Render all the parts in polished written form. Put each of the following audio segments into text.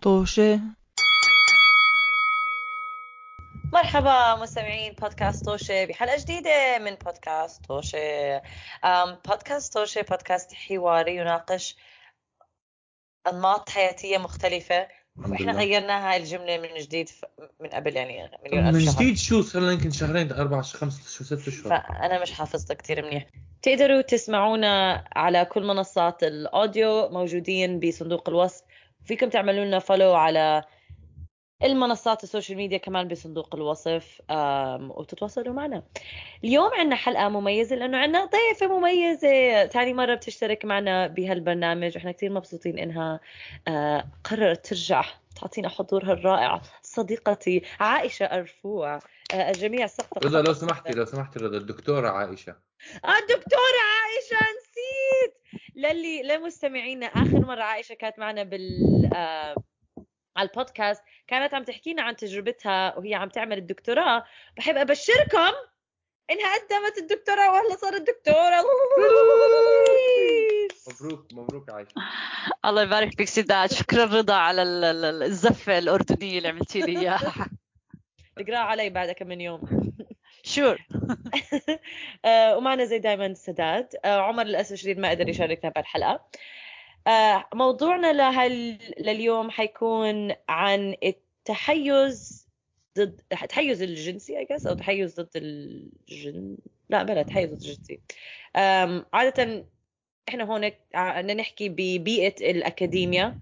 طوشة. مرحبا مستمعين بودكاست توشي بحلقة جديدة من بودكاست توشي. بودكاست توشي بودكاست حواري يناقش أنماط حياتية مختلفة. الحمد وإحنا لله. غيرنا هاي الجملة من جديد من قبل يعني مليون ألف من شهر. جديد شو صار لنا يمكن شهرين 4 5 6 أشهر. فأنا مش حافظتها كتير منيح. تقدروا تسمعونا على كل منصات الأوديو، موجودين بصندوق الوصف. فيكم تعملوا لنا فولو على المنصات السوشيال ميديا كمان بصندوق الوصف، وتتواصلوا معنا. اليوم عنا حلقة مميزة لأنه عنا ضيفة مميزة تاني مرة بتشترك معنا بهالبرنامج، وإحنا كتير مبسوطين إنها قررت ترجع تعطينا حضورها الرائع. صديقتي عائشة أرفوع. الجميع سقف رضا لو سمحتي رضا، الدكتورة عائشة. الدكتورة عائشة، نسيت. لمستمعينا، آخر مرة عائشة كانت معنا على البودكاست كانت عم تحكينا عن تجربتها وهي عم تعمل الدكتوراه. بحب أبشركم إنها قدمت الدكتوراه وهلا صارت دكتورة. مبروك عائشة. الله يبارك فيك سيدات، شكرا رضا على الزفة الأردنية اللي عملتي لي إياها. اقرأ علي بعد كم من يوم. شور. ومعنا زي دايما سداد. عمر للأسف الشديد ما قدر يشاركنا بهالحلقة. موضوعنا لليوم حيكون عن التحيز ضد التحيز الجنسي I guess، أو تحيز ضد لا بلا تحيز ضد الجنسي. عادة احنا هون بدنا نحكي ببيئة الأكاديميا.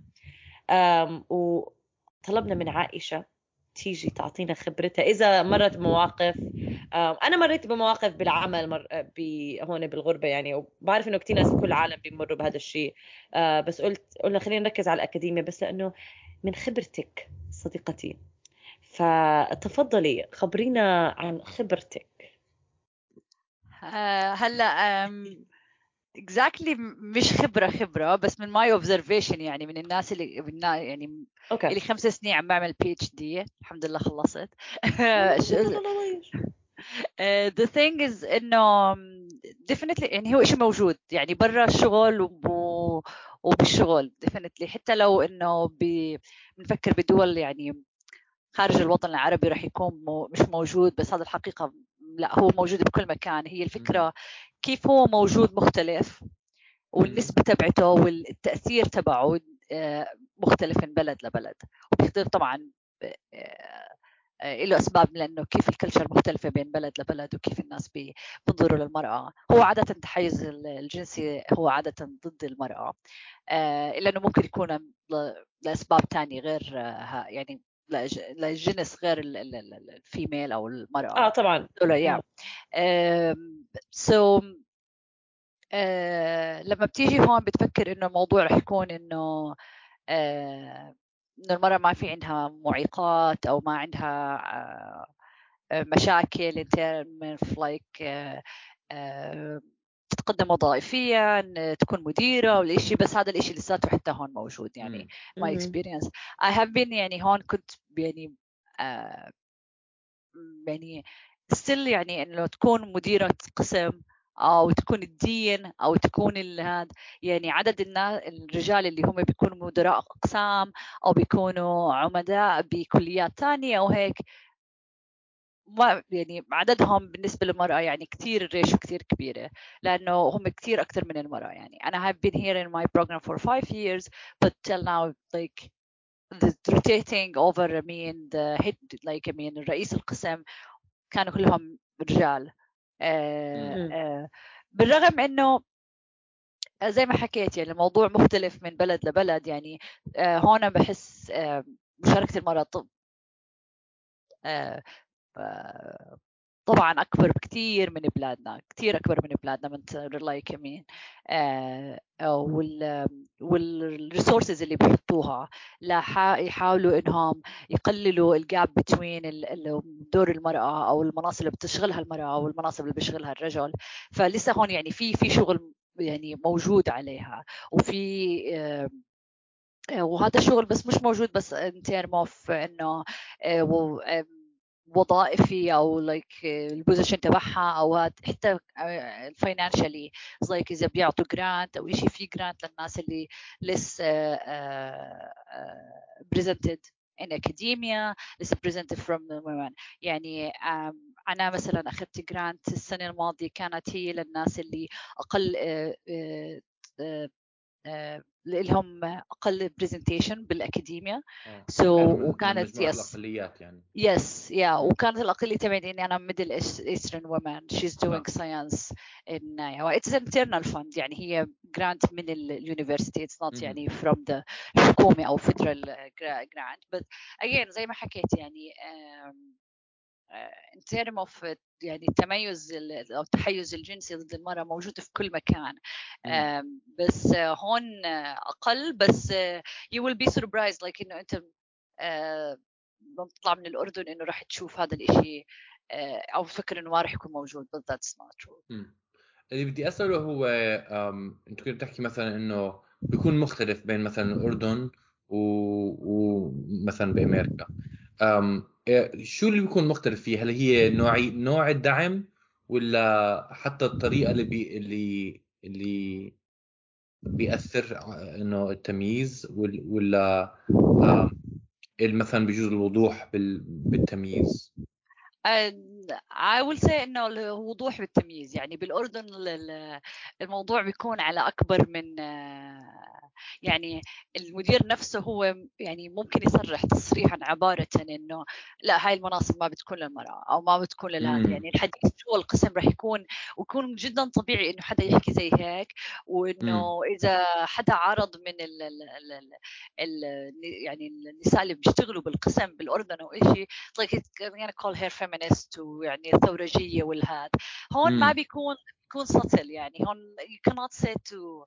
وطلبنا من عائشة تيجي تعطينا خبرتها إذا مرت بمواقف. أنا مريت بمواقف بالعمل هون بالغربة يعني، وبعرف إنه كتير ناس بكل العالم بيمروا بهذا الشيء. بس قلنا خلينا نركز على الأكاديمية، بس لأنه من خبرتك صديقتي، فتفضلي خبرينا عن خبرتك. هلا exactly مش خبرة بس من my observation، يعني من الناس يعني أوكي. اللي 5 سنين عم بعمل PhD، الحمد لله خلصت. the thing is إنه definitely يعني هو إشي موجود يعني برا الشغل وبالشغل definitely، حتى لو إنه بنفكر بدول يعني خارج الوطن العربي رح يكون مش موجود، بس هذا الحقيقة لا، هو موجود بكل مكان. هي الفكرة كيف هو موجود مختلف، والنسبة تبعته والتأثير تبعه مختلف من بلد لبلد، وبيختلف طبعا له أسباب، لأنه كيف الكلتشر مختلفة بين بلد لبلد، وكيف الناس بينظروا للمرأة. هو عادة التحيز الجنسي هو عادة ضد المرأة، إلا أنه ممكن يكون لأسباب تانية غير يعني للجنس غير الفيميل أو المرأة. طبعا. so لما بتيجي هون بتفكر إنه الموضوع رح يكون إنه إنه المرأة ما في عندها معيقات أو ما عندها مشاكل in terms of like تتقدم وظائفيا، تكون مديرة ولا شيء، بس هذا الإشي لساته حتى هون موجود يعني. my experience I have been يعني هون كنت يعني يعني still يعني إنه تكون مديرة قسم أو تكون الدين أو تكون هذا، يعني عدد الناس الرجال اللي هم بيكونوا مدراء أقسام أو بيكونوا عمداء بكليات تانية أو هيك، ما يعني عددهم بالنسبة للمرأة يعني كتير الريشو كتير كبيرة، لأنه هم كتير أكتر من المرأة. يعني أنا have been here in my program for 5 years but till now like the rotating over I mean the head like I mean رئيس القسم كانوا كلهم رجال. بالرغم انه زي ما حكيت يعني الموضوع مختلف من بلد لبلد يعني. هون بحس مشاركة المرأة طبعا أكبر بكتير من بلادنا، كتير أكبر من بلادنا من رلاي كمين. والريسورسز اللي بيحطوها يحاولوا إنهم يقللوا الجاب بين دور المرأة أو المناصب اللي بتشغلها المرأة أو المناصب اللي بيشغلها الرجل. فلسه هون يعني في شغل يعني موجود عليها، وفي وهذا الشغل بس مش موجود بس in term of إنه وظائفي او البوزيشن تبعها او حتى financially like اذا بيعطوا جرانت او شيء في جرانت للناس اللي لسه presented in academia لسه presented from the women. يعني أنا مثلا أخذت جرانت السنة الماضية كانت هي للناس اللي أقل لهم أقل presentation بالأكاديميا. وكانت الأقليات يعني وكانت الأقلية تبعي إني أنا middle eastern woman she's doing science in it's an internal fund يعني هي grant من الuniversity it's not يعني from the حكومة أو federal grant but again زي ما حكيت يعني in terms of يعني التميز أو التحيز الجنسي ضد المرأة موجود في كل مكان بس هون أقل بس you will be surprised like إنه أنت بتطلع من الأردن إنه راح تشوف هذا الإشي أو فكر إنه ما راح يكون موجود but that's not true. اللي بدي أسأله هو أنت كنت تحكي مثلا إنه بيكون مختلف بين مثلا الأردن ومثلا بأمريكا شو اللي بيكون مختلف فيه؟ هل هي نوع الدعم ولا حتى الطريقة اللي بيأثر إنه التمييز ولا مثلا بيجوز الوضوح بالتمييز؟ I will say إنه الوضوح بالتمييز يعني بالأردن الموضوع بيكون على أكبر من يعني المدير نفسه هو يعني ممكن يصرح تصريحا عبارة إنه لا هاي المناصب ما بتكون للمرأة أو ما بتكون للهذا يعني الحديث جوا القسم راح يكون جدا طبيعي إنه حدا يحكي زي هيك وإنه إذا حدا عرض من يعني النساء اللي بيشتغلوا بالقسم بالأردن أو إشي like يعني call her feminist ويعني ثورجية والهاد هون ما بيكون subtle يعني هون you cannot say to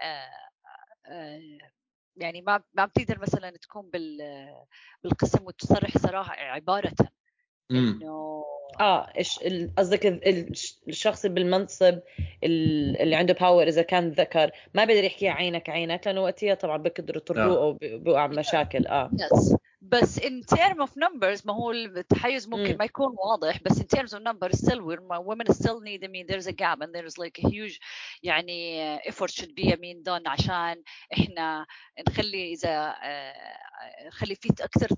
يعني ما بتقدر مثلا تكون بالقسم وتصرح صراحة عبارة إنه قصدك الشخص بالمنصب اللي عنده باور إذا كان ذكر ما بيقدر يحكي عينك لأنه وقتها طبعا بقدروا يطروه أو بيوقع مشاكل بس in terms of numbers ما هو التحيز ممكن ما يكون واضح بس in terms of numbers still women still need I mean there's a gap and there's like a huge يعني effort should be done عشان إحنا نخلي إذا نخلي فيه أكثر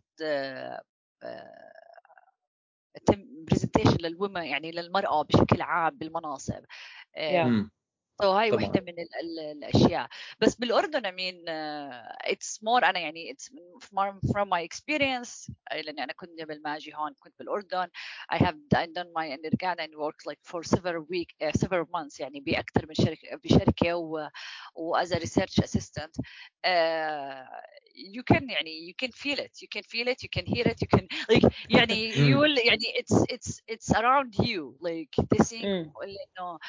presentation للwomen يعني للمرأة بشكل عام بالمناصب. هاي واحدة من الأشياء بس بالأردن I mean it's more أنا يعني it's from my experience لأني أنا كنت قبل ما أجي هون كنت بالأردن I done my undergrad and worked like for several months يعني بأكثر من بشركة و as a research assistant you can feel it you can hear it you can like يعني you will يعني it's around you like they think إنه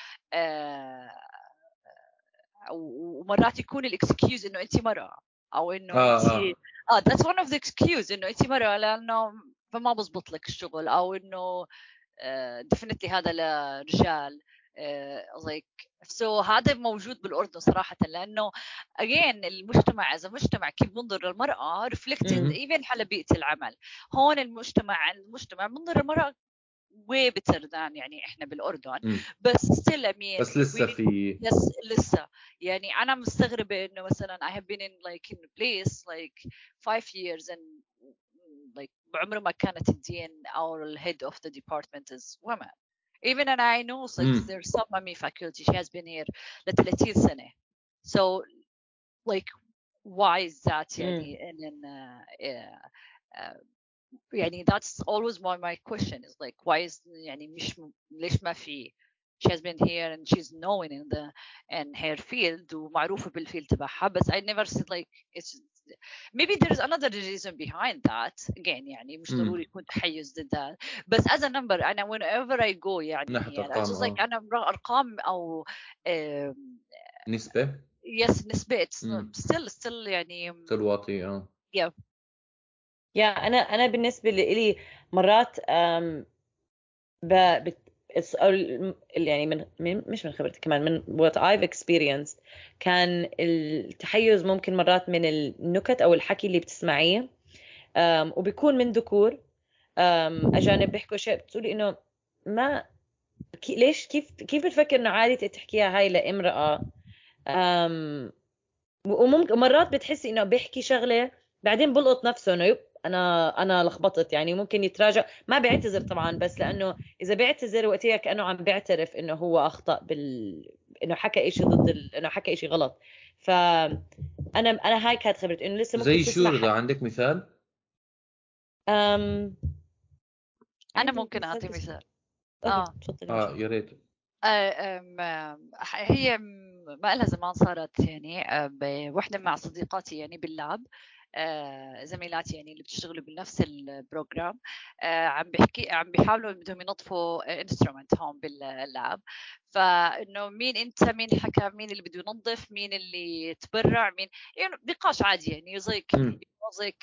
ومرات يكون الاكسكيوز انه انت مرأة او انه انت that's one of the excuse انه انت مرأة لانه فما بزبط لك الشغل او انه definitely هذا لرجال like so هذا موجود بالأردن صراحة لأنه again المجتمع إذا مجتمع كيف بنظر للمرأة reflected even على بيئة العمل هون المجتمع بنظر للمرأة way better than يعني إحنا بالأردن بس still I mean بس لسه في لسه يعني أنا مستغربة إنه مثلا I have been in like in a place like 5 years and like بعمر ما كانت الدين أو head of the department is women even and I know like there's some faculty she has been here ل 30 سنة so like why is that يعني يعني that's always my question is like why is يعني مش ليش ما في she has been here and she's known in her field ومعروفة بالفيلد تبعها بس I never said like it's maybe there's another reason behind that again يعني مش ضروري يكون تحيز ضد that بس as a number أنا whenever I go يعني just like أنا أرقام أو نسبة yes نسبة still يعني still واطي yeah أنا بالنسبة لي مرات يعني مش من خبرتي كمان من what I've experienced كان التحيز ممكن مرات من النكت أو الحكي اللي بتسمعيه وبيكون من ذكور اجانب بيحكوا شيء بتقولي انه ما ليش كيف بتفكر انه عادي تحكيها هاي لامرأة. وممكن مرات بتحسي انه بيحكي شغله بعدين بلقط نفسه انه يب انا لخبطت، يعني ممكن يتراجع، ما بيعتذر طبعا، بس لانه اذا بيعتذر وقتها كانه عم بيعترف انه هو اخطا انه حكى شيء ضد انه حكى شيء غلط. انا هاي كانت خبرتي انه لسه ممكن زي شو تسمع رضا، عندك مثال؟ انا عندي ممكن اعطي تسمع. مثال. اوكي تفضلي. يا ريت. هي ما لها زمان صارت يعني بوحدة مع صديقاتي يعني باللاب، زميلاتي يعني اللي بتشتغلوا بنفس البروجرام، عم بيحاولوا بدهم ينظفوا انسترومنت هون باللاب. فانه مين انت، مين حكى، مين اللي بده ينظف، مين اللي تبرع، مين يعني نقاش عادي يعني زيك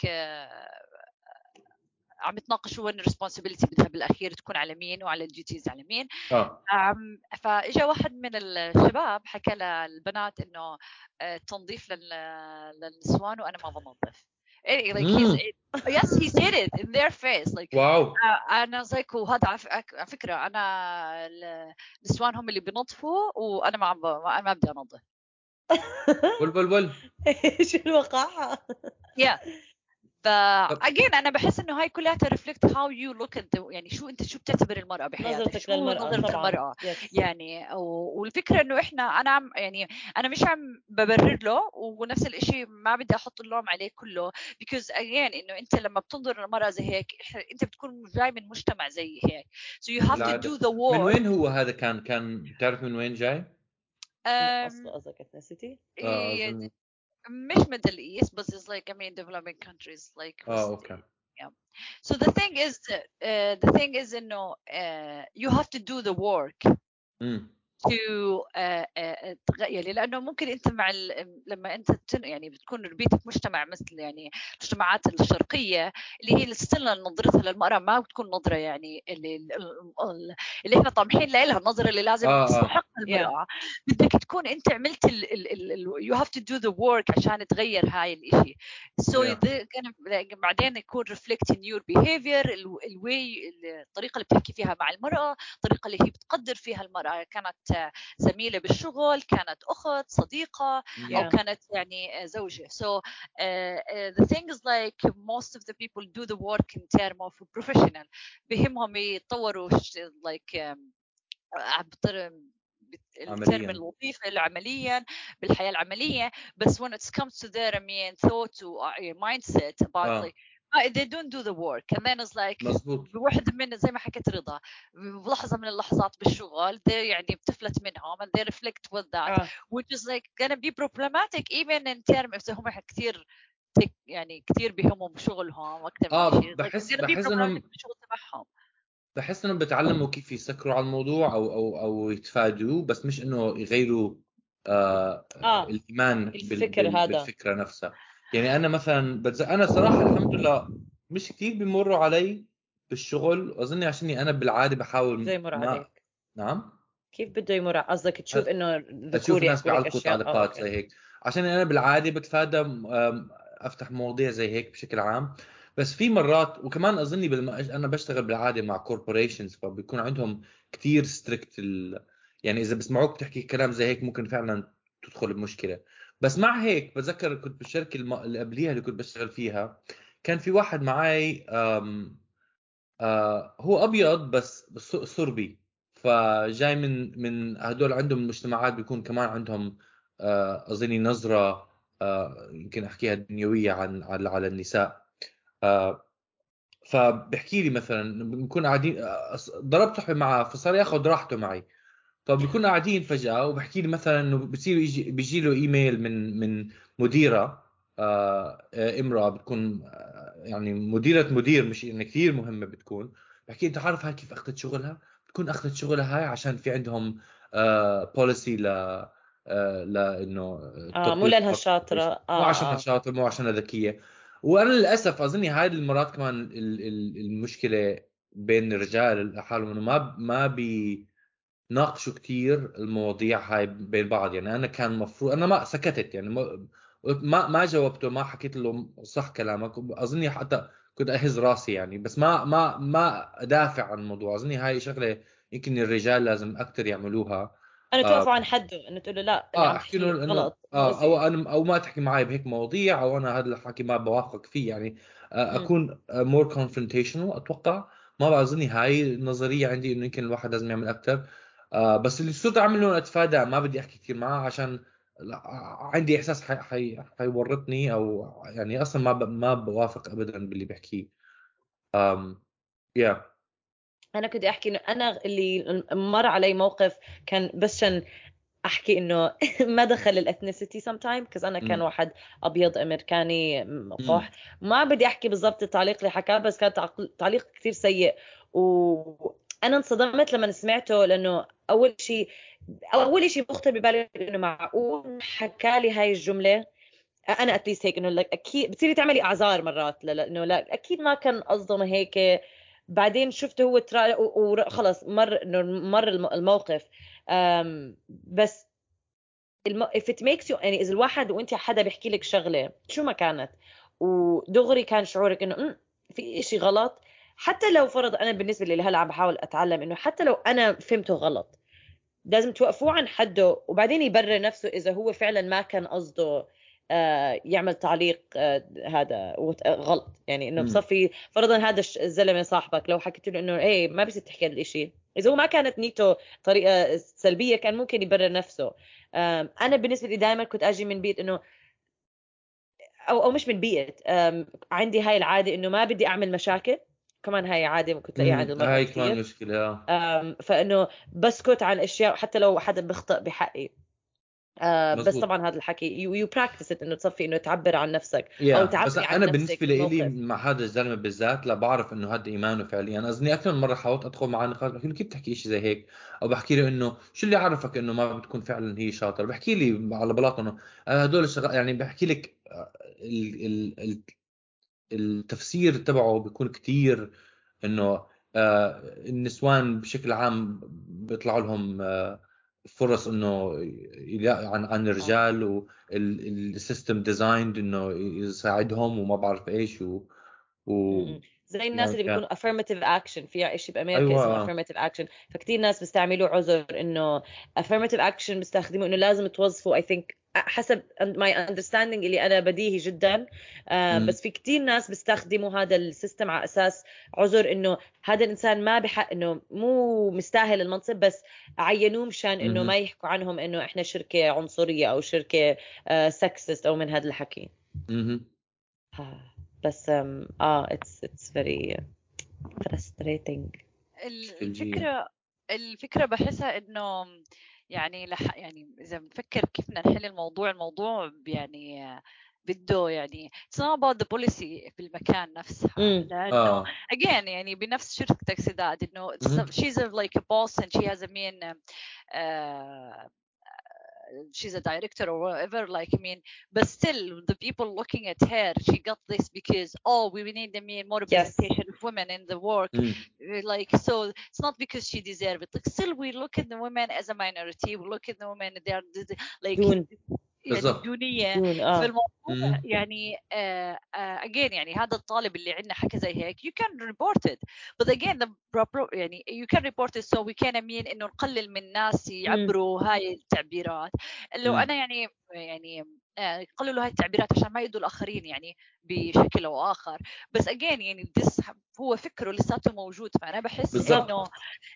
عم يتناقشوا وين الريسبونسبيلتي بدها بالاخير تكون على مين وعلى الديوتيز على مين. فاجا واحد من الشباب حكى للبنات انه التنظيف للنسوان وانا ما بنظف. Like yes, he said it in their face like واو. انا زيك. وهذا على فكره انا النسوان هم اللي بينظفوا وانا انا ما بدي انظف. بل ايش الوقاحه. yeah. again انا بحس انه هاي كلها reflect how you look at يعني شو بتعتبر المرأة بحياتك، نظرتك شو للمرأة نظرة طبعا. المرأة yes. يعني. والفكرة انه انا يعني انا مش عم ببرر له، ونفس الاشي ما بدي احط اللوم عليه كله because again انه انت لما بتنظر للمرأة زي هيك انت بتكون جاي من مجتمع زي هيك so you have to do the work. من وين هو هذا؟ كان تعرف من وين جاي؟ اصل قصدك ethnicity؟ مش Middle East بس it's like I mean developing countries like اوكي. yeah. So the thing is انه you have to do the work to تغير، لانه ممكن انت مع لما انت يعني بتكون ربيت مجتمع مثل يعني المجتمعات الشرقيه اللي هي ستيل نظرتها للمراه ما بتكون نظره يعني اللي احنا طامحين لها، النظره اللي لازم تستحق المراه. بدك تكون انت عملت you have to do the work عشان تغير هاي الاشي. so بعدين يكون reflect in your behavior الطريقه اللي بتحكي فيها مع المراه، الطريقه اللي هي بتقدر فيها المراه، كانت زميلة بالشغل، كانت أخت، صديقة، أو كانت يعني زوجة. So the thing is like most of the people do the work in term of professional. بهمهم يطوروا like الترم الوظيفة عمليا بالحياة العملية. بس when it comes to their thought or mindset about like they don't do the work and then it's like بواحد من زي ما حكيت رضا بلحظة من اللحظات بالشغل يعني بتفلت منهم and they reflect with that which is like gonna be problematic even in term if هم كتير يعني كتير بهمهم بشغلهم أكتر من شيء بحس انهم بالشغل تبعهم. بحس انهم بتعلموا كيف يسكروا على الموضوع او يتفادوه، بس مش انه يغيروا الايمان بالفكره نفسها. يعني انا مثلا انا صراحه الحمد لله مش كتير بيمروا علي بالشغل، اظني عشاني انا بالعاده بحاول زي مر عليك. نعم كيف بده يمر؟ قصدك تشوف انه اشوف ناس بيعلقوا تعليقات زي هيك، عشان انا بالعاده بتفادى افتح مواضيع زي هيك بشكل عام. بس في مرات وكمان اظني انا بشتغل بالعاده مع كوربوريشنز، فبيكون عندهم كتير ستريكت يعني اذا بسمعوك بتحكي كلام زي هيك ممكن فعلا تدخل بمشكله. بس مع هيك بتذكر كنت بالشركه اللي قبليها اللي كنت بشتغل فيها، كان في واحد معي هو ابيض بس صربي، فجاي من هدول عندهم مجتمعات بيكون كمان عندهم اظني نظره يمكن احكيها دنيويه على النساء. فبحكي لي مثلا بنكون قاعدين ضربت صحبه معه فصار ياخذ راحته معي، فبكون قاعدين فجاه وبحكي لي مثلا انه بصير بيجي له ايميل من مديره امراه بتكون يعني مديره مدير، مش يعني كثير مهمه بتكون. بحكي انت عارف هاي كيف اخذت شغلها؟ بتكون اخذت شغلها هاي عشان في عندهم بوليسي لانه مو لانها شاطره، مو عشانها شاطره، مو عشانها ذكيه. وانا للاسف اظني هاي المرات كمان المشكله بين الرجال حالهم انه ما بيناقشوا كتير المواضيع هاي بين بعض. يعني انا كان مفروض انا ما سكتت، يعني ما جاوبته، ما حكيت له صح كلامك. اظني حتى كنت اهز راسي يعني، بس ما ادافع عن الموضوع. اظني هاي شغله يمكن الرجال لازم اكثر يعملوها. انا توقفوا عن حده انه تقول له لا اللي عم احكي تحكيه له انه غلط او مؤذي. انا او ما تحكي معي بهيك مواضيع، او انا هذا الحكي ما بوافق فيه يعني. مم. اكون مور confrontational اتوقع. ما بعرف، هاي النظريه عندي انه يمكن الواحد لازم يعمل اكثر. بس اللي صرت اعمله اتفادى، ما بدي احكي كثير معه عشان عندي احساس حيورطني، او يعني اصلا ما بوافق ابدا باللي بحكيه. يا انا كنت احكي انه انا اللي مر علي موقف كان بس عشان احكي انه ما دخل الاثنيسيتي sometime because انا كان واحد ابيض امريكاني قح. ما بدي احكي بالضبط التعليق اللي حكاه، بس كان تعليق كثير سيء، وانا انصدمت لما سمعته، لانه اول شيء بخطر ببالي انه معقول حكى لي هاي الجمله. انا اتليست هيك انه لك اكيد بتصيري تعملي اعذار مرات لانه لا اكيد ما كان قصده هيك. بعدين شفته هو وخلص مر الموقف. بس if it makes you يعني اذا الواحد وانت حدا بيحكي لك شغله شو ما كانت ودغري كان شعورك انه في إشي غلط، حتى لو فرض انا بالنسبه لي هلا عم بحاول اتعلم انه حتى لو انا فهمته غلط لازم توقفوه عن حده، وبعدين يبرر نفسه اذا هو فعلا ما كان قصده يعمل تعليق هذا غلط. يعني انه بصفي فرضا هذا الزلمه صاحبك لو حكيت له انه ايه ما بصير تحكي هذا الشيء، اذا هو ما كانت نيته طريقه سلبيه كان ممكن يبرر نفسه. انا بالنسبه لي دائما كنت اجي من بيت انه او مش من بيئه، عندي هاي العاده انه ما بدي اعمل مشاكل. كمان هاي عاده ممكن تلاقيها عند المرأة هاي كمان كثير. مشكله. فانه بسكت عن اشياء حتى لو حدا بيخطئ بحقي. بس مزبوط. طبعا هذا الحكي يو براكتس انه تصفي انه تعبر عن نفسك او بس تعبري عن انا نفسك بالنسبه لي بالموقف. مع هذا الزلمه بالذات لا بعرف انه هذا ايمانه فعليا. انا اظني اكثر من مره حاولت ادخل معاه نقاش، بحكي له كيف تحكي شيء زي هيك، او بحكي له انه شو اللي عرفك انه ما بتكون فعلا هي شاطر. بحكي لي على بلاط انه هدول الشغلات، يعني بحكي لك التفسير تبعه بيكون كتير انه النسوان بشكل عام بيطلع لهم فرص انه عن اه الرجال، والسيستم ديزايند انه يساعدهم وما بعرف ايش و زي الناس يعني اللي بيكونوا affirmative action. في شيء بامريكا اسمه ايوه. affirmative action، فكتير ناس بيستعملوا عذر انه affirmative action بيستخدموا انه لازم توظفوا I think حسب my understanding اللي انا بديهي جدا. مم. بس في كتير ناس بيستخدموا هذا السيستم على اساس عذر انه هذا الانسان ما بحق انه مو مستاهل المنصب، بس عينوه مشان انه مم. ما يحكوا عنهم انه احنا شركة عنصرية او شركة سكسست او من هذا الحكي. مم. بس it's very frustrating. ثلجية. الفكرة بحسها إنه يعني يعني إذا بنفكر كيف بدنا نحل الموضوع يعني بده يعني it's not about the policy في المكان نفسها، لأنه اه. again يعني بنفس شركتك سداد إنه مم. she's like a boss and she has a mean she's a director or whatever, like I mean, but still the people looking at her, she got this because we need more Yes. representation of women in the work. مم. Like, so it's not because she deserves it. Like, still we look at the women as a minority, we look at the women, they are like دون يعني بالضبط. دونية دون في الموضوع. مم. يعني again يعني هذا الطالب اللي عندنا حكى زي هيك you can report it, but again the proper يعني you can report it so we can mean إنه نقلل من الناس يعبروا هاي التعبيرات. لو أنا يعني يقللوا هاي التعبيرات عشان ما يؤذوا الآخرين يعني بشكل أو آخر. بس again يعني this هو فكره لساته موجود. فأنا بحس بالضبط. إنه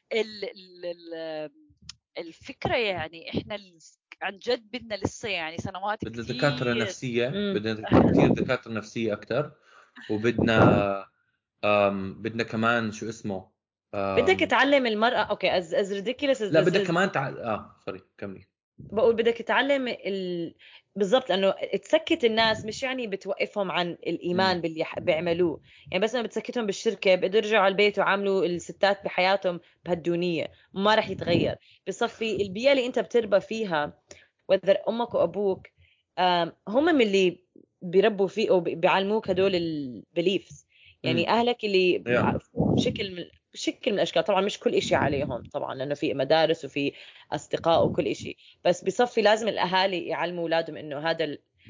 الفكرة يعني إحنا عن جد بدنا لسه يعني سنوات بدنا دكاترة كتير. نفسية، بدنا كتير دكاترة نفسية أكتر. وبدنا بدنا كمان شو اسمه بدك تعلم المرأة اوكي as ridiculous as لا this بدك is. كمان سوري كملي. بقول بدك تعلم بالضبط، لانه تسكت الناس مش يعني بتوقفهم عن الايمان باللي بيعملوه. يعني بس لما بتسكتهم بالشركه بيقدروا يرجعوا على البيت وعاملوا الستات بحياتهم بهالدونيه ما راح يتغير. بصفي البيئه اللي انت بتربى فيها وذر امك وابوك هم من اللي بيربوا فيه او بيعلموك هدول البيليفز. يعني اهلك اللي يا بشكل من الاشكال، طبعا مش كل إشي عليهم طبعا لانه في مدارس وفي اصدقاء وكل إشي، بس بصفي لازم الاهالي يعلموا اولادهم انه هذا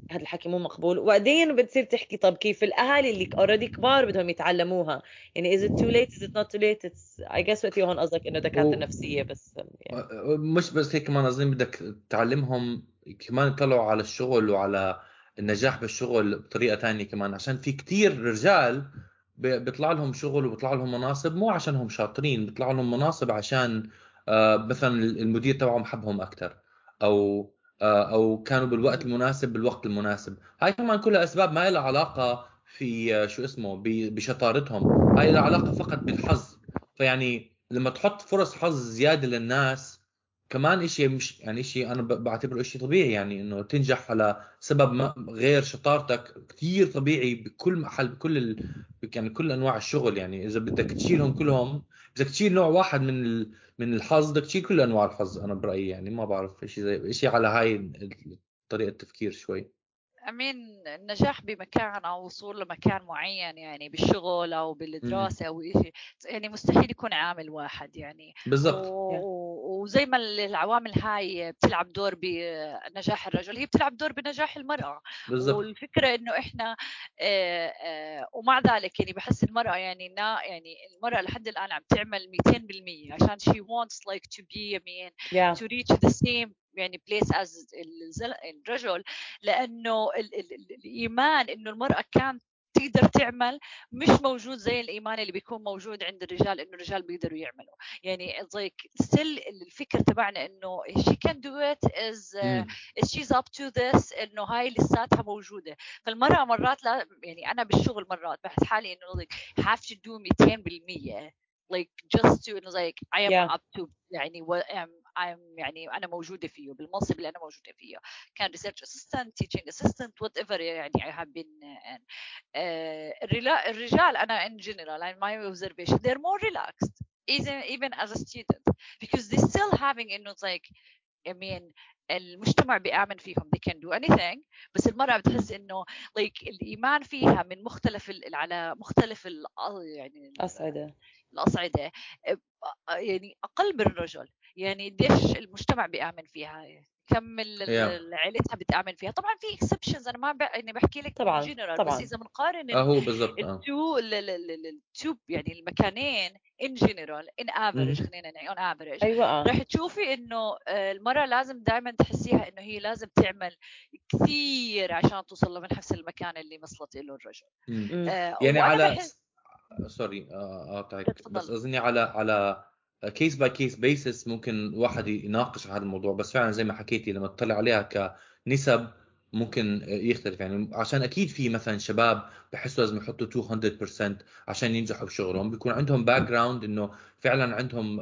هذا الحكي مو مقبول. وبعدين بتصير تحكي طب كيف الاهالي اللي اوريدي كبار بدهم يتعلموها؟ يعني is it too late is it not too late it's I guess وقتي هون قصدك انه دكاتره نفسيه بس يعني. مش بس هيك، كمان أظن بدك تعلمهم كمان يطلعوا على الشغل وعلى النجاح بالشغل بطريقة تانية كمان، عشان في كتير رجال بيطلع لهم شغل وبيطلع لهم مناصب مو عشانهم شاطرين، بيطلع لهم مناصب عشان مثلا المدير تبعهم حبهم أكتر، أو أو كانوا بالوقت المناسب بالوقت المناسب. هاي كمان كلها أسباب ما لها علاقة في شو اسمه بشطارتهم، هاي لها علاقة فقط بالحظ. فيعني لما تحط فرص حظ زيادة للناس كمان اشي، مش يعني اشي انا بعتبره اشي طبيعي، يعني انه تنجح على سبب ما غير شطارتك كثير طبيعي بكل محل بكل يعني كل انواع الشغل. يعني اذا بدك تشيلهم كلهم، اذا تشيل نوع واحد من الحظ بدك تشيل كل انواع الحظ. انا برأيي يعني ما بعرف اشي زي اشي على هاي طريقة التفكير شوي. أمين، النجاح بمكان أو وصول لمكان معين يعني بالشغل أو بالدراسة أو إشي، يعني مستحيل يكون عامل واحد يعني. بالضبط. وزي ما العوامل هاي بتلعب دور بنجاح الرجل، هي بتلعب دور بنجاح المرأة. بالضبط. والفكرة إنه إحنا ومع ذلك يعني بحس المرأة يعني يعني المرأة لحد الآن عم تعمل 200% عشان she wants like to be I mean yeah. to reach the same يعني place as الرجل. لانه الايمان انه المراه كانت تقدر تعمل مش موجود زي الايمان اللي بيكون موجود عند الرجال انه الرجال بيقدروا يعملوا. يعني like still الفكر تبعنا انه she can do it is she's up to this، انه هاي لساتها موجوده. فالمراه مرات لا يعني انا بالشغل مرات بحس حالي انه like have to do 200% like just to like I am yeah. up to يعني I'm يعني انا موجوده فيه بالمنصب اللي انا موجوده فيه، كان research assistant teaching assistant whatever يعني I have been in. الرجال أنا in general in my observation they're more relaxed even as a student because they still having إنه like I mean المجتمع بيآمن فيهم they can do anything. بس المرأة بتحس إنه like الإيمان فيها من مختلف على مختلف يعني الأصعدة يعني أقل من الرجل. يعني قديش المجتمع بيآمن فيها، كم عائلتها بتآمن فيها. طبعا في اكسبشنز انا ما يعني بحكي لك طبعا جنرال، طبعا. بس اذا بنقارن هو بالضبط التو يعني المكانين ان جنرال ان افريج خلينا نقول اون افريج ايوه رح تشوفي انه المراه لازم دائما تحسيها انه هي لازم تعمل كثير عشان توصل لنفس المكان اللي وصلت له الرجل. يعني على بحس سوري قاطعك، بس اظني على كيس باي كيس بيسس ممكن واحد يناقش هذا الموضوع. بس فعلا زي ما حكيتي لما تطلع عليها كنسب ممكن يختلف. يعني عشان اكيد في مثلا شباب بحسوا لازم يحطوا 200% عشان ينجحوا بشغلهم، بيكون عندهم باك جراوند انه فعلا عندهم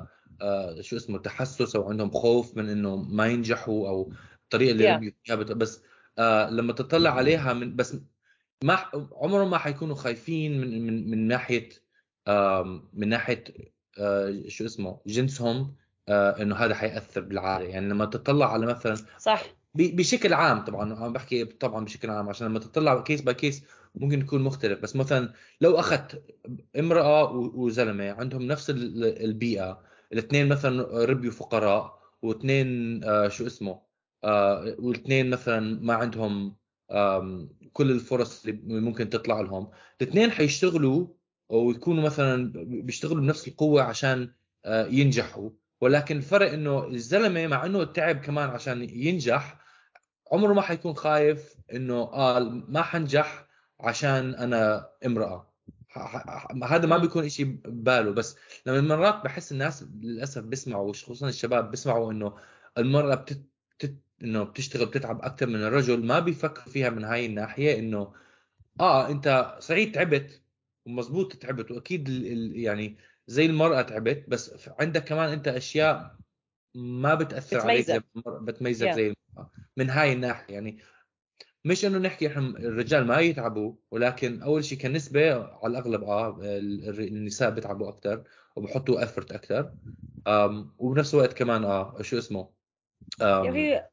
شو اسمه تحسس او عندهم خوف من انه ما ينجحوا او الطريقه اللي ربيوا فيها. بس لما تطلع عليها من بس ما عمرهم ما حيكونوا خايفين من ناحيه من ناحيه شو اسمه جنسهم، انه هذا حيأثر بالعالم. يعني لما تطلع على مثلا صح بشكل عام، طبعا انا بحكي طبعا بشكل عام عشان لما تطلع كيس باي كيس ممكن يكون مختلف. بس مثلا لو اخذت امرأة وزلمة عندهم نفس البيئة، الاثنين مثلا ربيوا فقراء، واثنين شو اسمه والاثنين مثلا ما عندهم كل الفرص اللي ممكن تطلع لهم، الاثنين حيشتغلوا ويكونوا مثلا بيشتغلوا بنفس القوة عشان ينجحوا. ولكن الفرق انه الزلمة مع انه تعب كمان عشان ينجح عمره ما حيكون خايف انه ما حنجح عشان انا امرأة. هذا ما بيكون اشي بباله. بس لما مرات بحس الناس للاسف بيسمعوا خصوصا الشباب بيسمعوا انه المرأة انه بتشتغل بتتعب اكثر من الرجل، ما بيفكروا فيها من هاي الناحية انه انت صحيح تعبت ومزبوط تعبت، واكيد يعني زي المرأة تعبت، بس عندك كمان انت اشياء ما بتأثر عليك زي بتميزك زي المرأة من هاي الناحية. يعني مش انه نحكي احنا الرجال ما يتعبوا، ولكن اول شيء كنسبة على الاغلب النساء بيتعبوا اكثر وبحطوا افورت اكثر. وبنفس الوقت كمان شو اسمه وهي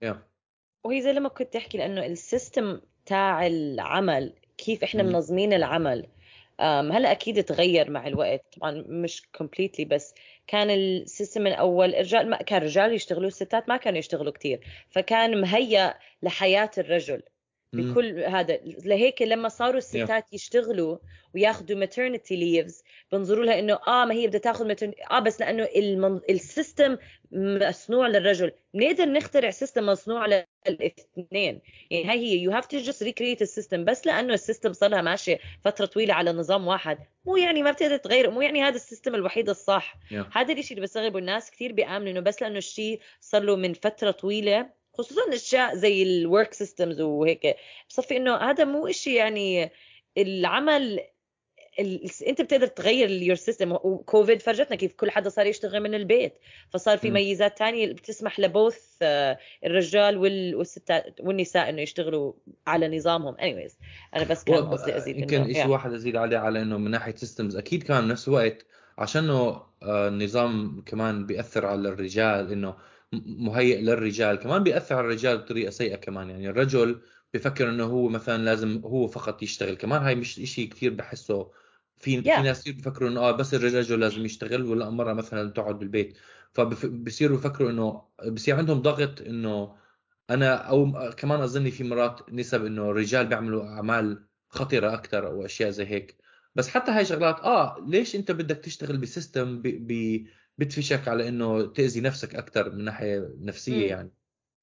زي لما كنت تحكي لانه السيستم تاع العمل كيف احنا منظمين العمل هلا اكيد تغير مع الوقت طبعا مش completely بس كان السيستم من اول الرجال ما كان رجال يشتغلوا الستات ما كانوا يشتغلوا كتير فكان مهيأ لحياة الرجل بكل هذا لهيك لما صاروا الستات يشتغلوا وياخذوا maternity leaves بنظروا لها انه ما هي بدها تاخذ بس لانه السيستم مصنوع للرجل بنقدر نخترع سيستم مصنوع للاثنين يعني هاي هي you have to just recreate السيستم بس لانه السيستم صار لها ماشيه فتره طويله على نظام واحد مو يعني ما بتقدر تغير مو يعني هذا السيستم الوحيد الصح هذا الشيء اللي بستغربه الناس كثير بيآمنوا انه بس لانه الشيء صار له من فتره طويله خصوصا اشياء زي الورك سيستمز وهيك بصفي انه هذا مو إشي يعني العمل انت بتقدر تغير اليور سيستم وكوفيد فرجتنا كيف كل حدا صار يشتغل من البيت فصار في ميزات تانية بتسمح لبوث الرجال والستات والنساء انه يشتغلوا على نظامهم anyways انا بس كان قصدي ازيد يمكن شيء واحد ازيد عليه على انه من ناحيه سيستمز اكيد كان بنفس الوقت عشانه النظام كمان بيأثر على الرجال انه مهيئ للرجال كمان بيأثر على الرجال بطريقه سيئه كمان يعني الرجل بفكر انه هو مثلا لازم هو فقط يشتغل كمان هاي مش شيء كثير بحسه في ناس كثير بفكروا انه بس الرجل لازم يشتغل ولا المرأة مثلا تقعد بالبيت فبصيروا يفكروا انه بصير عندهم ضغط انه انا او كمان اظن في مرات نسب انه الرجال بيعملوا اعمال خطرة اكثر او اشياء زي هيك بس حتى هاي شغلات ليش انت بدك تشتغل بسيستم بتفشك على انه تأذي نفسك اكثر من ناحية نفسية يعني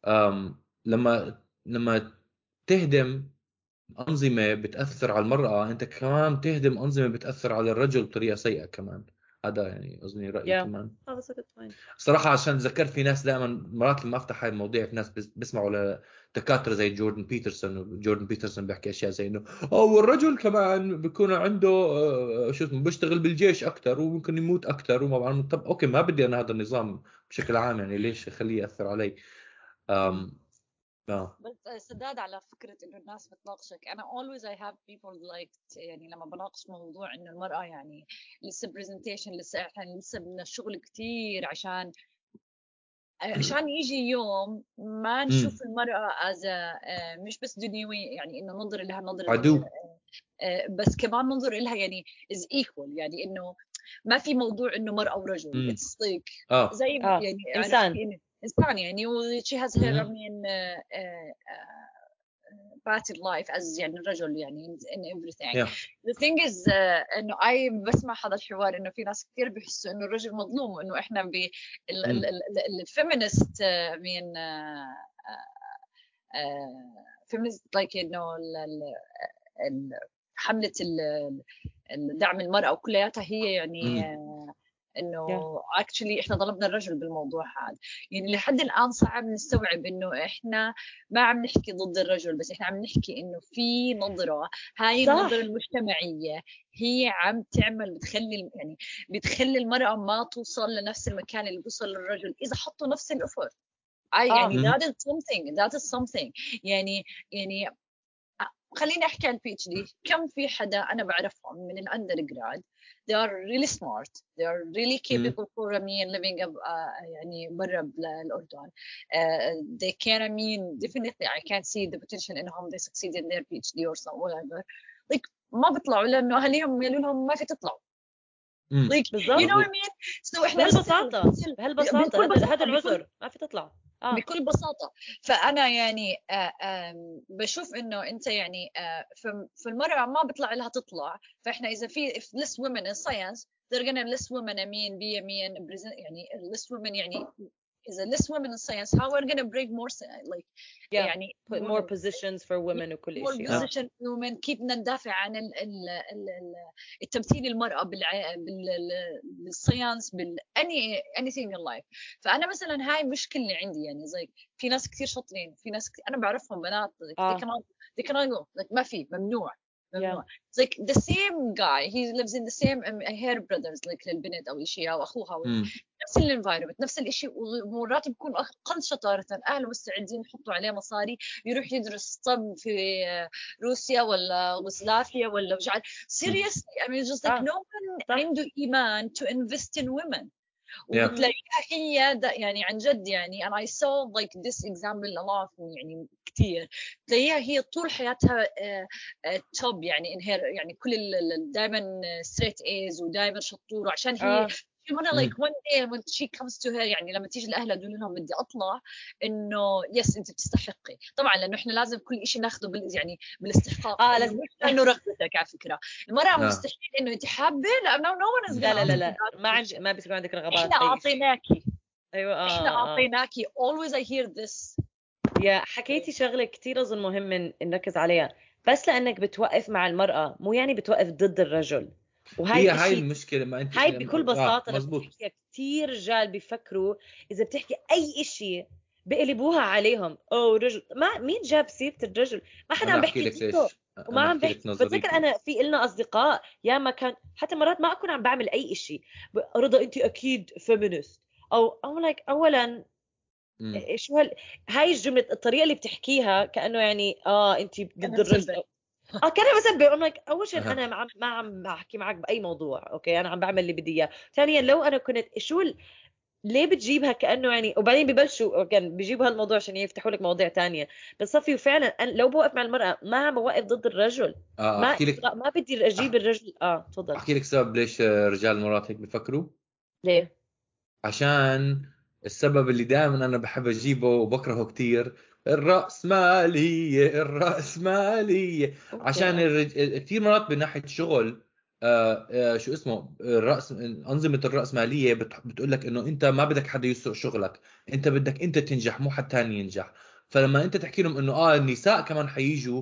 لما تهدم أنظمة بتأثر على المرأة أنت كمان تهدم أنظمة بتأثر على الرجل بطريقة سيئة كمان هذا يعني أظني رأيي كمان صراحة عشان ذكرت في ناس دائما مرات لما أفتح هاي المواضيع في ناس بيسمعوا لدكاترة زي جوردن بيترسون وجوردن بيترسون بيحكي أشياء زي إنه والرجل كمان بيكون عنده شو اسمه بيشتغل بالجيش أكتر وممكن يموت أكتر وما بعرف طب أوكي ما بدي أنا هذا النظام بشكل عام يعني ليش أخليه يأثر علي بس سداد على فكرة إنه الناس بتناقشك أنا always I have people like يعني لما بناقش موضوع إنه المرأة يعني لسه presentation لسه إحنا لسه بدنا الشغل كتير عشان يجي يوم ما نشوف المرأة as مش بس دنيوي يعني إنه ننظر لها نظرة عدو بس كمان ننظر لها يعني is equal يعني إنه ما في موضوع إنه مرأة ورجل it's like زي يعني إنسان يعني she has her I mean battered life as يعني الرجل يعني in everything the thing is إنه بسمع هذا الحوار إنه في ناس كثير بيحسوا إنه الرجل مظلوم وإنه إحنا الفيمينست من feminist like إنه حملة دعم المرأة وكلياتها هي يعني انه actually احنا ظلمنا الرجل بالموضوع هذا يعني لحد الان صعب نستوعب انه احنا ما عم نحكي ضد الرجل بس احنا عم نحكي انه في نظرة هاي النظرة المجتمعية هي عم تعمل بتخلي المرأة ما توصل لنفس المكان اللي بيوصل للرجل اذا حطوا نفس الافورت يعني that is something يعني خليني احكي عن البي اتش دي كم في حدا انا بعرفهم من الاندر جراد they are really smart they are really capable for living يعني برا الاردن they can definitely I can see the potential انهم they succeed in their PhD or so whatever like ما بيطلعوا لانه اهاليهم يقولوا لهم ما في تطلعوا like you know what I mean so احنا بهالبساطة هذا العذر ما في تطلع بكل بساطة فأنا يعني بشوف إنه أنت يعني في المرأة ما بيطلع لها تطلع فإحنا إذا في less women in science they're gonna less women يعني less women يعني إذا less women in science how we're gonna bring more like يعني put more positions for women وكل more شيء position women كيف بدنا ندافع عن التمثيل المرأة بالساينس anything in life فأنا مثلا هاي مشكلة عندي يعني زي في ناس كثير شاطرين في ناس أنا بعرفهم بنات they cannot go like ما في ممنوع It's like the same guy he lives in the same hair brothers like للبنت أو شيء أو أخوها نفس الانفايرمنت نفس الشيء ومرات بيكون أقل شطارة أهله مستعدين يحطوا عليه مصاري يروح يدرس طب في روسيا ولا يوغوسلافيا ولا مش عارف seriously I mean just like no one عنده إيمان to invest in women وتلاقيها هي يعني عن جد يعني and I saw like this example a lot يعني كتير تلاقيها هي طول حياتها توب يعني انهير يعني كل دائما straight A's ودائما شطورة عشان هي she wanna like one day when she comes to her يعني لما تيجي لأهلها تقول لهم بدي أطلع إنه يس أنت بتستحقي طبعا لأنه إحنا لازم كل إشي ناخده يعني بالاستحقاق لازم مش لأنه رغبتك على فكرة المرأة مستحيل إنه أنت حابة لأنه no one is لا ما بيصير عندك رغبات إحنا أعطيناكي أيوة إحنا أعطيناكي always I hear this يا حكيتي شغلة كتير أظن مهم نركز عليها بس لأنك بتوقف مع المرأة مو يعني بتوقف ضد الرجل وهي هاي المشكلة ما أنت هاي بكل بساطة مزبوط كتير رجال بيفكروا إذا بتحكي أي إشي بقلبوها عليهم أو رجل ما مين جاب سيرة الرجل ما حدا عم بحكي فيه وما عم بحكي بتذكر أنا في إلنا أصدقاء يا ما كان حتى مرات ما أكون عم بعمل أي إشي رضا أنت أكيد فيمينست أو like أولا شو هاي الجملة الطريقة اللي بتحكيها كأنه يعني أنت ضد الرجل كان بسبب اول شيء انا ما عم بحكي معك باي موضوع اوكي انا عم بعمل اللي بدي اياه ثانيا لو انا كنت ليه بتجيبها كانه يعني وبعدين ببلشوا كان بيجيبوا هالموضوع عشان يفتحوا لك مواضيع تانية بس صفي وفعلا أنا لو بوقف مع المرأة ما عم بوقف ضد الرجل ما بدي اجيب الرجل تفضل احكي لك سبب ليش رجال المرات هيك بفكروا ليه عشان السبب اللي دائما انا بحب اجيبه وبكرهه كتير الرأسمالية عشان كثير مرات بناحية شغل شو اسمه أنظمة الرأسمالية بتقول لك إنه أنت ما بدك حدا يسرق شغلك أنت بدك أنت تنجح مو حد تاني ينجح فلما أنت تحكي لهم إنه النساء كمان حييجوا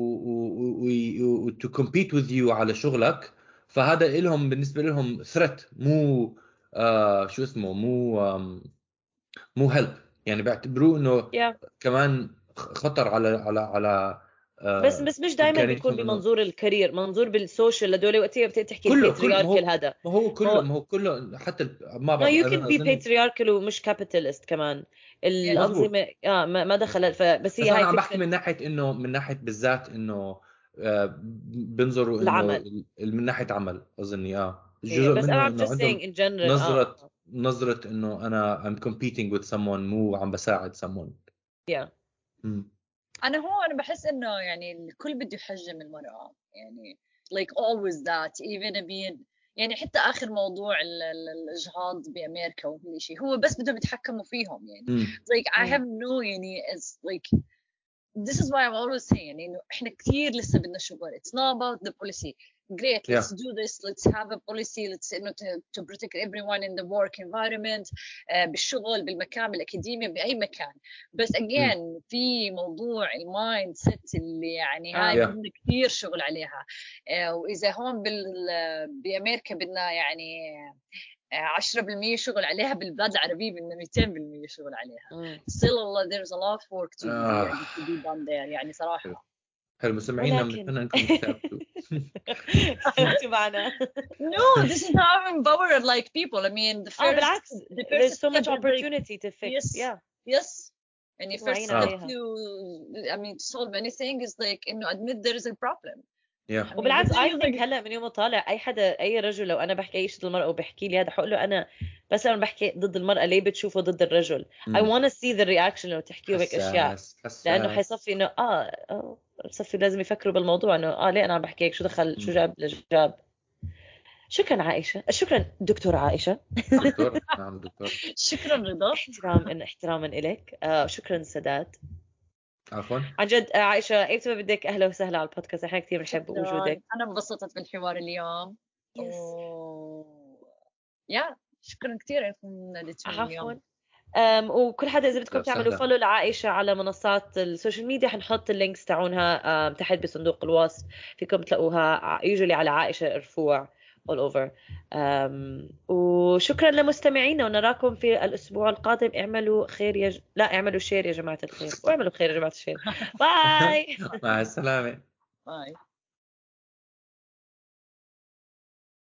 و to compete with you على شغلك فهذا لهم بالنسبة لهم threat مو شو اسمه مو هيلب يعني بيعتبروه انه كمان خطر على بس مش دائما بيكون بمنظور الكارير منظور بالسوشيال لدول وقتها بتحكي الباترياركال هذا ما هو كله حتى ما بعرف you can be patriarchal ومش capitalist كمان الأنظمة ما دخل بس هي هاي عم بحكي من ناحية بالذات انه بنظروا انه من ناحية عمل اظني جزء بس منه I'm just saying in general نظرة انه انا I'm competing with someone مو عم بساعد someone أنا بحس إنه يعني الكل بده يحجم المرأة يعني like always that even being يعني حتى آخر موضوع الإجهاض بأمريكا وكل شيء هو بس بدهم يتحكموا فيهم يعني like I have no يعني it's like this is why I'm always saying يعني إنه إحنا كتير لسه بدنا شغل it's not about the policy great let's do this let's have a policy let's to protect everyone in the work environment بالشغل بالمكان بالأكاديمية بأي مكان بس again في موضوع المايند سيت اللي يعني هاي بدنا كثير شغل عليها وإذا هون بأمريكا بدنا يعني 10% شغل عليها بالبلاد العربية بدنا 200% شغل عليها still there's a lot of work to be done there يعني صراحة حلو مستمعينا بنتمنى انكم تثبتوا انتوا معنا no this is how I empower like people I mean the first بالعكس there's so much opportunity to fix yes and the first step to I mean to solve anything is like انه admit there is a problem وبالعكس I think هلا من يوم طالع اي رجل لو انا بحكي اي شيء ضد المرأة وبحكي لي هذا حقول له انا بس انا بحكي ضد المرأة ليه بتشوفه ضد الرجل I want to see the reaction لو تحكيه بهيك اشياء لانه حيصفي انه صفي لازم يفكروا بالموضوع انه ليه انا عم بحكي هيك شو دخل شو جاب شكرا عائشة شكرا دكتورة عائشة دكتور نعم دكتور شكرا رضا احتراما إليك شكرا سداد عفوا عن جد عائشة ايمتى بدك اهلا وسهلا على البودكاست احنا كثير بنحب وجودك انا انبسطت بالحوار اليوم شكرا كثير انكم ناديتوني اليوم وكل حدا اذا بدكم تعملوا فولو لعائشة على منصات السوشيال ميديا حنحط اللينكس تاعونها تحت بصندوق الوصف فيكم تلاقوها يوجولي على عائشة رفوع all over وشكرا لمستمعينا ونراكم في الأسبوع القادم اعملوا خير اعملوا شير يا جماعة الخير واعملوا خير يا جماعة الخير باي مع السلامة باي